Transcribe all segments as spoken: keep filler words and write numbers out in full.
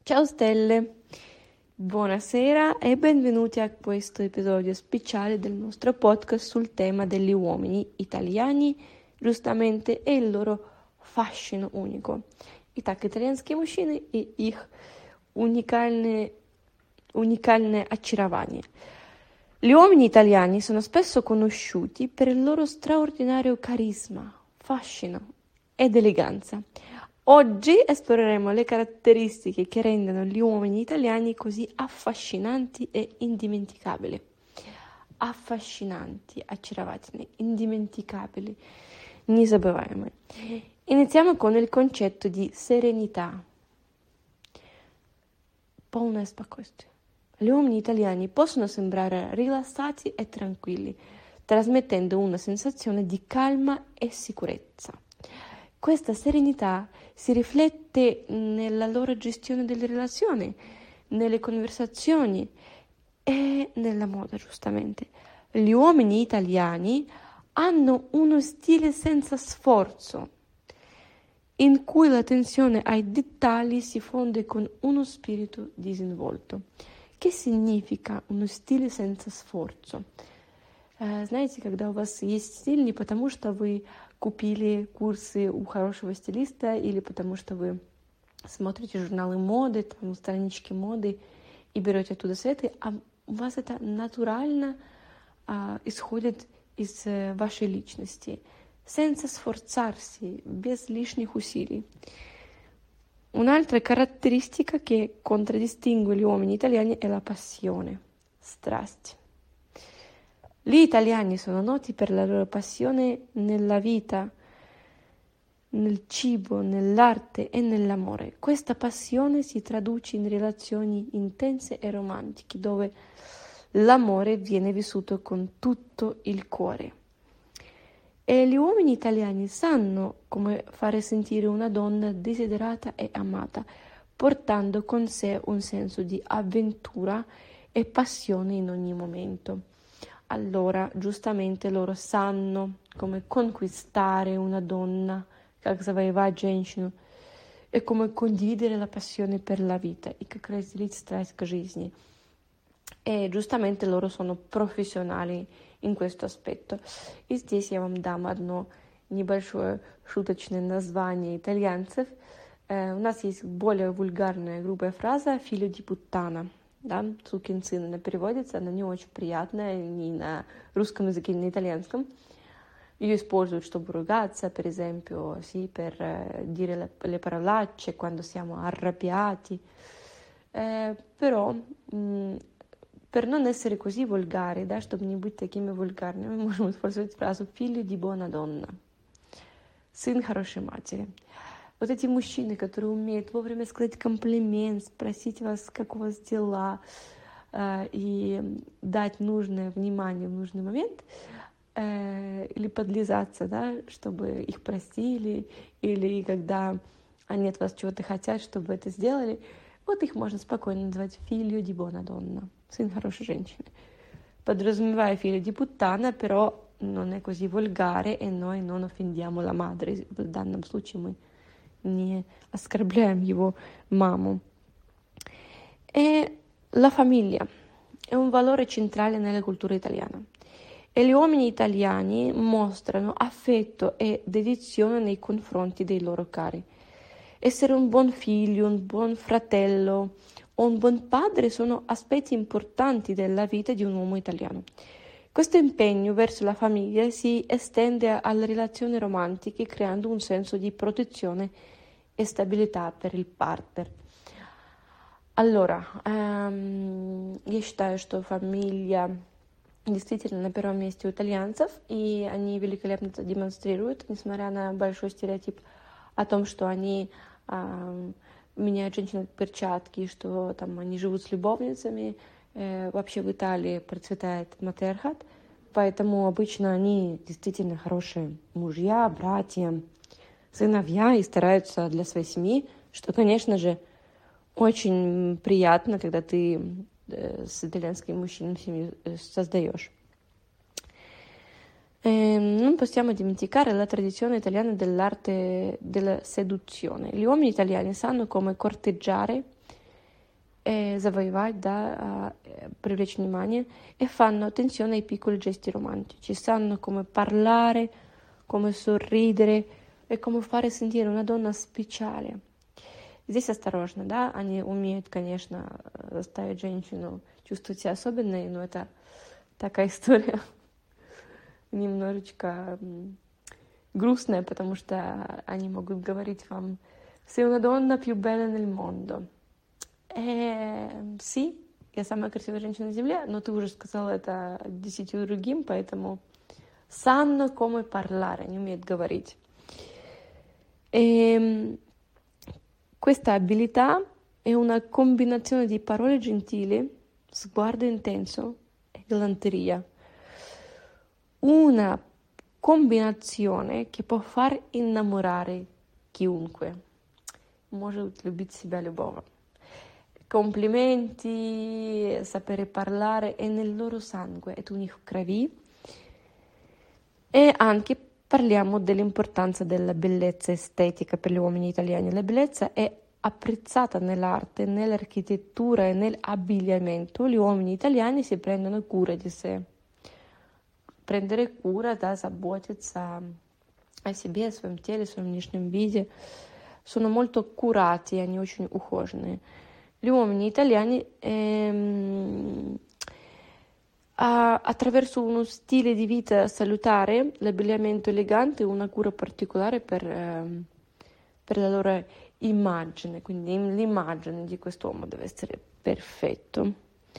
Ciao stelle, buonasera e benvenuti a questo episodio speciale del nostro podcast sul tema degli uomini italiani, giustamente, e il loro fascino unico. Итак, итальянские мужчины и их уникальное, уникальное очарование. Gli uomini italiani sono spesso conosciuti per il loro straordinario carisma, fascino ed eleganza. Oggi esploreremo le caratteristiche che rendono gli uomini italiani così affascinanti e indimenticabili. Affascinanti, очаровательные, indimenticabili, незабываемые. Iniziamo con il concetto di serenità. Полное спокойствие. Gli uomini italiani possono sembrare rilassati e tranquilli, trasmettendo una sensazione di calma e sicurezza. Questa serenità si riflette nella loro gestione delle relazioni, nelle conversazioni e nella moda, giustamente. Gli uomini italiani hanno uno stile senza sforzo, in cui l'attenzione ai dettagli si fonde con uno spirito disinvolto. Che significa uno стиль senza sforzo? Знаете, когда у вас есть стиль не потому, что вы купили курсы у хорошего стилиста или потому, что вы смотрите журналы моды, там, странички моды и берете оттуда советы, а у вас это натурально а, исходит из вашей личности. Senza sforzarsi, без лишних усилий. Un'altra caratteristica che contraddistingue gli uomini italiani è la passione, strasti. Gli italiani sono noti per la loro passione nella vita, nel cibo, nell'arte e nell'amore. Questa passione si traduce in relazioni intense e romantiche, dove l'amore viene vissuto con tutto il cuore. E gli uomini italiani sanno come fare sentire una donna desiderata e amata, portando con sé un senso di avventura e passione in ogni momento. Allora, giustamente, loro sanno come conquistare una donna, как завоевать женщину, e come condividere la passione per la vita, и как разделить страсть к жизни. E giustamente loro sono professionali in questo aspetto. И здесь я вам дам одно небольшое шуточное название итальянцев. Э, у нас есть более вульгарная, грубая фраза «figlio di puttana». Да, сукин сын, она переводится, она не очень приятная ни на русском языке, ни на итальянском. Ее используют, чтобы ругаться, per esempio, sì, per eh, dire le, le parolacce quando siamo arrabbiati. Eh, però, mh, per non essere così volgari, да, чтобы не быть такими вульгарными, мы можем использовать фразу «figlio di buona donna», сын хорошей матери. Вот эти мужчины, которые умеют вовремя сказать комплимент, спросить вас, как у вас дела, э, и дать нужное внимание в нужный момент, э, или подлизаться, да, чтобы их простили, или когда они от вас чего-то хотят, чтобы это сделали, вот их можно спокойно называть «figlio di buona donna», сын хорошей женщины. Подразумевая «figlio di puttana», però non è così volgare e noi non offendiamo la madre. В данном случае мы не оскорбляем его маму. E la famiglia è un valore centrale nella cultura italiana e gli uomini italiani mostrano affetto e dedizione nei confronti dei loro cari. Essere un buon figlio, un buon fratello o un buon padre sono aspetti importanti della vita di un uomo italiano. Questo impegno verso la famiglia si estende alle relazioni romantiche, creando un senso di protezione e stabilità per il partner. Allora, эм, я считаю, что фамилия действительно на первом месте у итальянцев, и они великолепно это демонстрируют, несмотря на большой стереотип о том, что они эм, меняют женщин как перчатки, что там они живут с любовницами. Вообще в Италии процветает матриархат, поэтому обычно они действительно хорошие мужья, братья, сыновья и стараются для своей семьи, что, конечно же, очень приятно, когда ты с итальянским мужчиной семью создаешь. Eh, non possiamo dimenticare la tradizione italiana dell'arte della seduzione. Gli uomini italiani sanno come corteggiare eh, завоевать, да, eh, привлечь внимание, e fanno attenzione ai piccoli gesti romantici, sanno come parlare, come sorridere e come fare sentire una donna speciale. Здесь осторожно, да, они умеют, конечно, заставить женщину чувствовать себя особенной, но это такая история немножечко грустная, потому что они могут говорить вам «Sei una donna più bella nel mondo». Э, sì, я самая красивая женщина на земле, но ты уже сказала это десятью другим, поэтому sanno come parlare, они умеют говорить. E questa abilità è una combinazione di parole gentili, sguardo intenso e galanteria. Una combinazione che può far innamorare chiunque. Может любить себя любого. Complimenti, sapere parlare è nel loro sangue, è у них в крови. E anche parliamo dell'importanza della bellezza estetica per gli uomini italiani. La bellezza è apprezzata nell'arte, nell'architettura e nell'abbigliamento. Gli uomini italiani si prendono cura di sé. Prendere cura, да, заботиться о себе, о своем теле, о своем внешнем виде. Sono molto curati, они очень ухоженные. Gli uomini italiani ehm, attraverso uno stile di vita salutare, l'abbigliamento elegante e una cura particolare per, eh, per la loro immagine, quindi l'immagine di quest'uomo deve essere perfetto.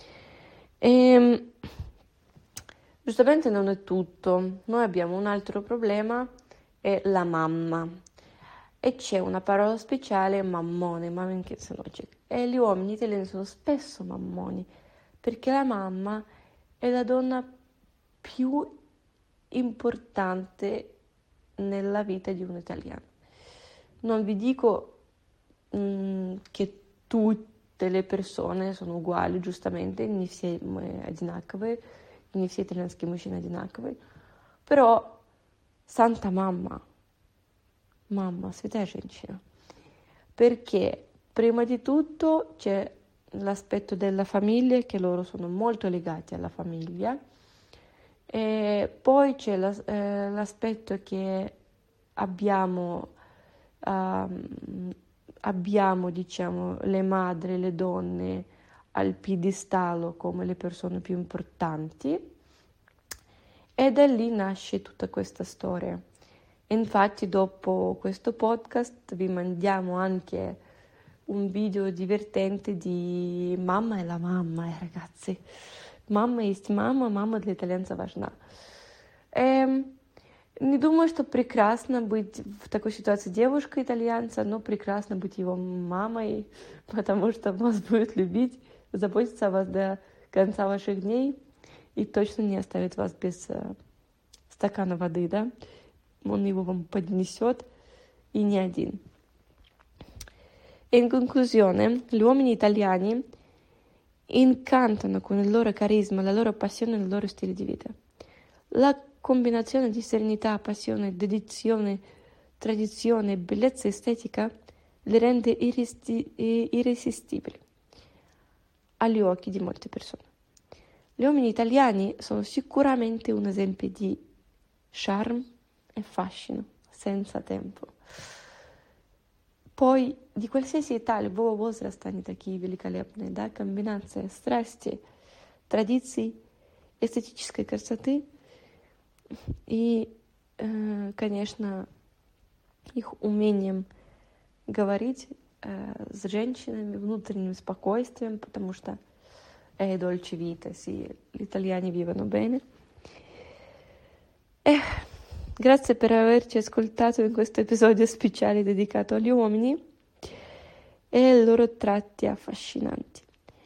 E, giustamente non è tutto, noi abbiamo un altro problema, è la mamma, e c'è una parola speciale, mammone, maminkin synочек, e gli uomini italiani sono spesso mammoni, perché la mamma è la donna più importante nella vita di un italiano. Non vi dico mh, che tutte le persone sono uguali, giustamente, не все мы одинаковые, не все итальянские мужчины одинаковые, però Santa Mamma, mamma, святая женщина, perché prima di tutto c'è l'aspetto della famiglia, che loro sono molto legati alla famiglia, e poi c'è la, eh, l'aspetto che abbiamo, um, abbiamo diciamo, le madri, le donne al piedistallo come le persone più importanti, e da lì nasce tutta questa storia. Infatti dopo questo podcast vi mandiamo anche un video divertente di «Mamma è la mamma», eh, ragazzi. Мама есть мама, мама для итальянца важна. Эм, не думаю, что прекрасно быть в такой ситуации девушкой итальянца, но прекрасно быть его мамой, потому что вас будет любить, заботиться о вас до конца ваших дней и точно не оставит вас без э, стакана воды, да? Он его вам поднесет, и не один. E in conclusione, gli uomini italiani incantano con il loro carisma, la loro passione e il loro stile di vita. La combinazione di serenità, passione, dedizione, tradizione e bellezza estetica li rende irresti- irresistibili agli occhi di molte persone. Gli uomini italiani sono sicuramente un esempio di charme e fascino, senza tempo. Poi, di qualsiasi età, любого возраста они такие великолепные, да, комбинация страсти, традиций, эстетической красоты и, э, конечно, их умением говорить э, с женщинами, внутренним спокойствием, потому что è dolce vita, sì, gli italiani vivono bene. Eh, Grazie per averci ascoltato in questo episodio speciale dedicato agli uomini e ai loro tratti affascinanti.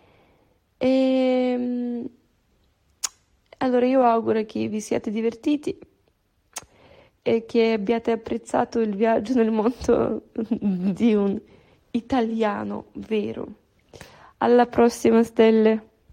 E allora io auguro che vi siate divertiti e che abbiate apprezzato il viaggio nel mondo di un italiano vero. Alla prossima, stelle!